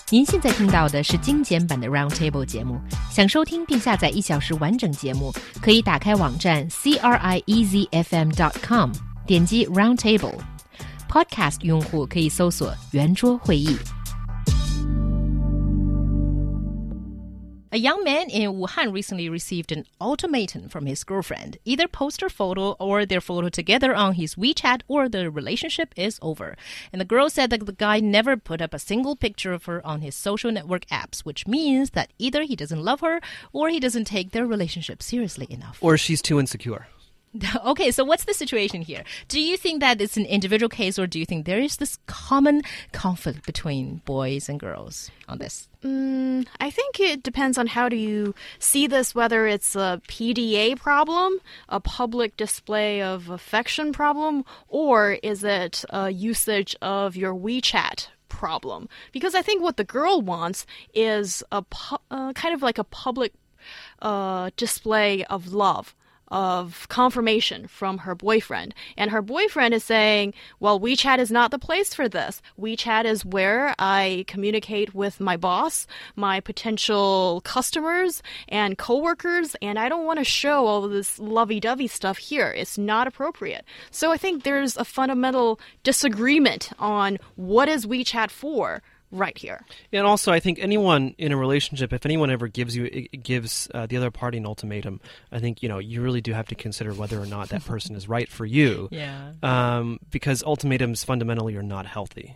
您现在听到的是精简版的 Roundtable 节目。想收听并下载1小时完整节目，可以打开网站 CRIEZFM.com， 点击 Roundtable。Podcast 用户可以搜索圆桌会议。A young man in Wuhan recently received an ultimatum from his girlfriend. Either post her photo or their photo together on his WeChat or the relationship is over. And the girl said that the guy never put up a single picture of her on his social network apps, which means that either he doesn't love her or he doesn't take their relationship seriously enough. Or she's too insecure. Okay, so what's the situation here? Do you think that it's an individual case or do you think there is this common conflict between boys and girls on this? I think it depends on how do you see this, whether it's a PDA problem, a public display of affection problem, or is it a usage of your WeChat problem? Because I think what the girl wants is a kind of like a public display of love, of confirmation from her boyfriend. And her boyfriend is saying, well, WeChat is not the place for this. WeChat is where I communicate with my boss, my potential customers and coworkers, and I don't want to show all of this lovey-dovey stuff here. It's not appropriate. So I think there's a fundamental disagreement on what is WeChat for right here. And also, I think anyone in a relationship, if anyone ever gives the other party an ultimatum, I think, you really do have to consider whether or not that person is right for you. Yeah. Because ultimatums fundamentally are not healthy.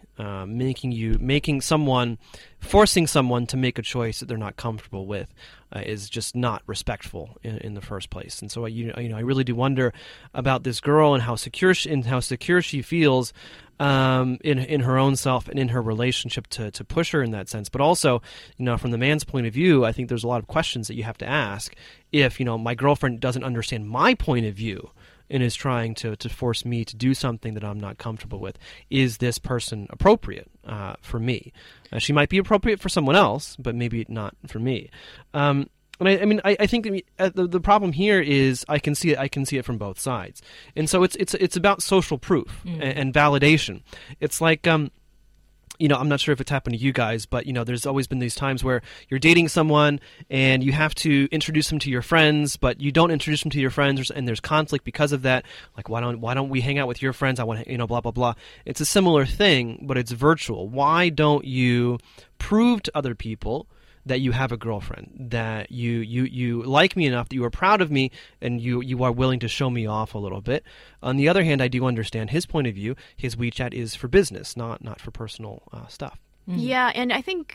Forcing someone to make a choice that they're not comfortable with is just not respectful in the first place. And so, I really do wonder about this girl and how secure she feels in her own self and in her relationship to push her in that sense. But also, from the man's point of view, I think there's a lot of questions that you have to ask. If, my girlfriend doesn't understand my point of view and is trying to force me to do something that I'm not comfortable with, is this person appropriate for me? She might be appropriate for someone else, but maybe not for me. And I think the problem here is I can see it from both sides, and so it's about social proof and validation. It's like I'm not sure if it's happened to you guys, but there's always been these times where you're dating someone and you have to introduce them to your friends, but you don't introduce them to your friends, and there's conflict because of that. Like, why don't we hang out with your friends? I want to, blah blah blah. It's a similar thing, but it's virtual. Why don't you prove to other people that you have a girlfriend, that you like me enough, that you are proud of me, and you are willing to show me off a little bit? On the other hand, I do understand his point of view. His WeChat is for business, not for personal stuff. Yeah, and I think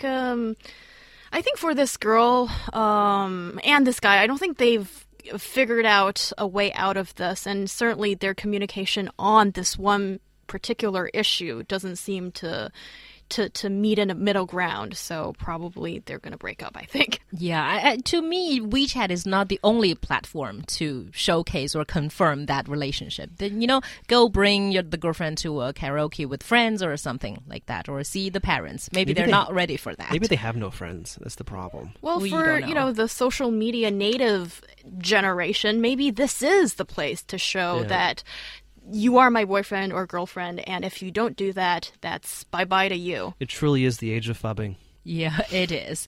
for this girl and this guy, I don't think they've figured out a way out of this, and certainly their communication on this one particular issue doesn't seem to meet in a middle ground, so probably they're going to break up, I think. Yeah, to me, WeChat is not the only platform to showcase or confirm that relationship. Then, go bring the girlfriend to a karaoke with friends or something like that, or see the parents. Maybe they're not ready for that. Maybe they have no friends. That's the problem. Well, for, the social media native generation, maybe this is the place to show that you are my boyfriend or girlfriend, and if you don't do that, that's bye-bye to you. It truly is the age of phubbing. Yeah, it is.